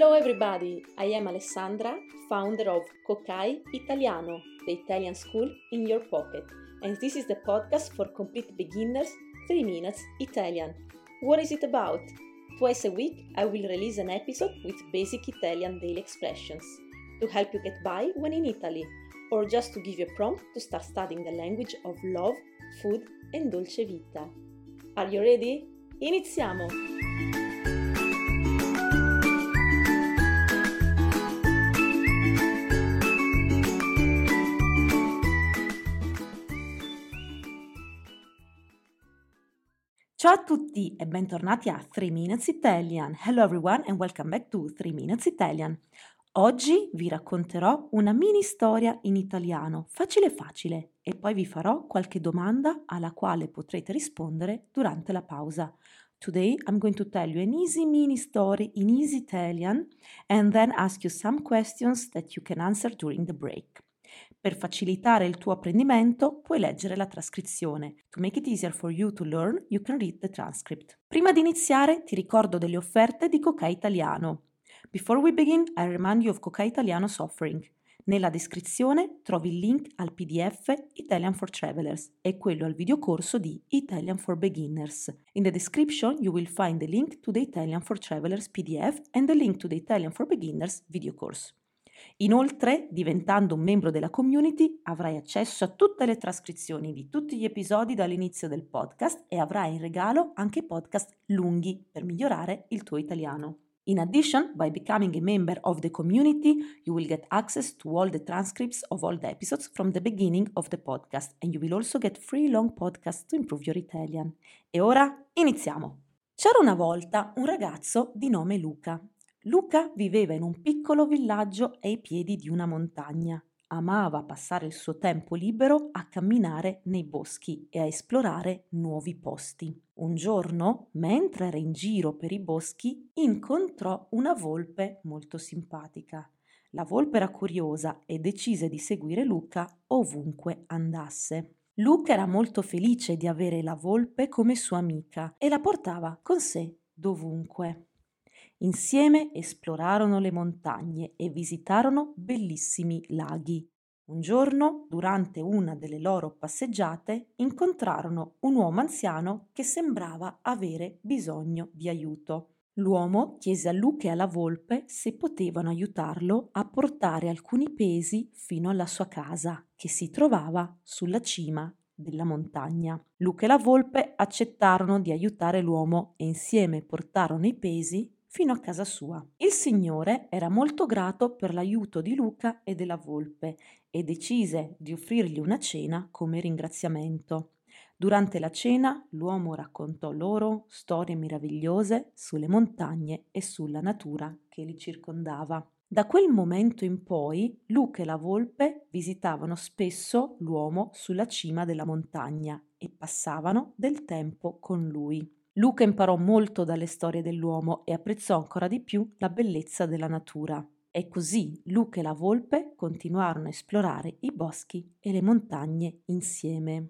Hello everybody, I am Alessandra, founder of Kokai Italiano, the Italian school in your pocket. And this is the podcast for complete beginners, 3 minutes Italian. What is it about? Twice a week I will release an episode with basic Italian daily expressions to help you get by when in Italy, or just to give you a prompt to start studying the language of love, food and dolce vita. Are you ready? Iniziamo! Ciao a tutti e bentornati a 3 Minutes Italian. Hello everyone and welcome back to 3 Minutes Italian. Oggi vi racconterò una mini storia in italiano, facile facile, e poi vi farò qualche domanda alla quale potrete rispondere durante la pausa. Today I'm going to tell you an easy mini story in easy Italian and then ask you some questions that you can answer during the break. Per facilitare il tuo apprendimento puoi leggere la trascrizione. To make it easier for you to learn, you can read the transcript. Prima di iniziare ti ricordo delle offerte di Kokai Italiano. Before we begin, I remind you of Kokai Italiano's offering. Nella descrizione trovi il link al PDF Italian for Travelers e quello al videocorso di Italian for Beginners. In the description you will find the link to the Italian for Travelers PDF and the link to the Italian for Beginners video course. Inoltre, diventando un membro della community, avrai accesso a tutte le trascrizioni di tutti gli episodi dall'inizio del podcast e avrai in regalo anche podcast lunghi per migliorare il tuo italiano. In addition, by becoming a member of the community, you will get access to all the transcripts of all the episodes from the beginning of the podcast and you will also get free long podcasts to improve your Italian. E ora iniziamo! C'era una volta un ragazzo di nome Luca. Luca viveva in un piccolo villaggio ai piedi di una montagna. Amava passare il suo tempo libero a camminare nei boschi e a esplorare nuovi posti. Un giorno, mentre era in giro per i boschi, incontrò una volpe molto simpatica. La volpe era curiosa e decise di seguire Luca ovunque andasse. Luca era molto felice di avere la volpe come sua amica e la portava con sé dovunque. Insieme esplorarono le montagne e visitarono bellissimi laghi. Un giorno, durante una delle loro passeggiate, incontrarono un uomo anziano che sembrava avere bisogno di aiuto. L'uomo chiese a Luca e alla volpe se potevano aiutarlo a portare alcuni pesi fino alla sua casa, che si trovava sulla cima della montagna. Luca e la volpe accettarono di aiutare l'uomo e insieme portarono i pesi fino a casa sua. Il Signore era molto grato per l'aiuto di Luca e della volpe e decise di offrirgli una cena come ringraziamento. Durante la cena l'uomo raccontò loro storie meravigliose sulle montagne e sulla natura che li circondava. Da quel momento in poi Luca e la volpe visitavano spesso l'uomo sulla cima della montagna e passavano del tempo con lui. Luca imparò molto dalle storie dell'uomo e apprezzò ancora di più la bellezza della natura. E così Luca e la volpe continuarono a esplorare i boschi e le montagne insieme.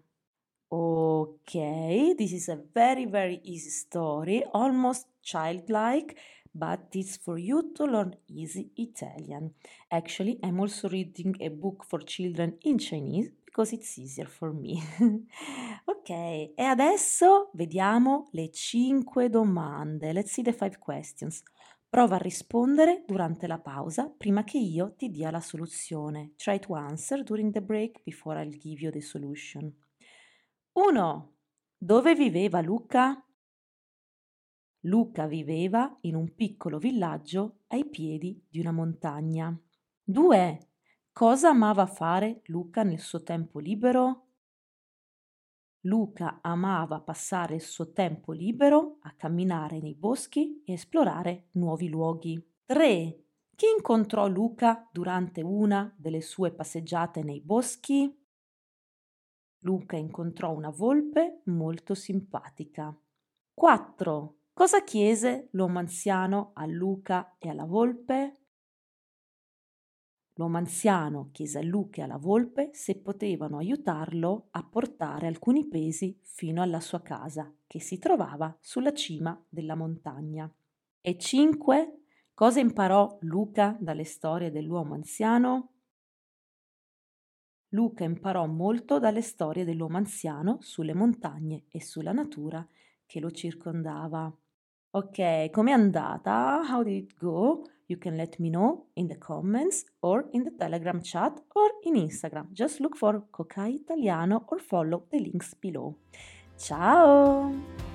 Ok, this is a very easy story, almost childlike, but it's for you to learn easy Italian. Actually, I'm also reading a book for children in Chinese because it's easier for me. Ok, e adesso vediamo le 5 domande. Let's see the 5 questions. Prova a rispondere durante la pausa prima che io ti dia la soluzione. Try to answer during the break before I'll give you the solution. 1. Dove viveva Luca? Luca viveva in un piccolo villaggio ai piedi di una montagna. 2. Cosa amava fare Luca nel suo tempo libero? Luca amava passare il suo tempo libero a camminare nei boschi e esplorare nuovi luoghi. 3. Chi incontrò Luca durante una delle sue passeggiate nei boschi? Luca incontrò una volpe molto simpatica. 4. Cosa chiese l'uomo anziano a Luca e alla volpe? L'uomo anziano chiese a Luca e alla volpe se potevano aiutarlo a portare alcuni pesi fino alla sua casa, che si trovava sulla cima della montagna. E 5. Cosa imparò Luca dalle storie dell'uomo anziano? Luca imparò molto dalle storie dell'uomo anziano sulle montagne e sulla natura che lo circondava. Ok, com'è andata? How did it go? You can let me know in the comments or in the Telegram chat or in Instagram. Just look for Kokai Italiano or follow the links below. Ciao!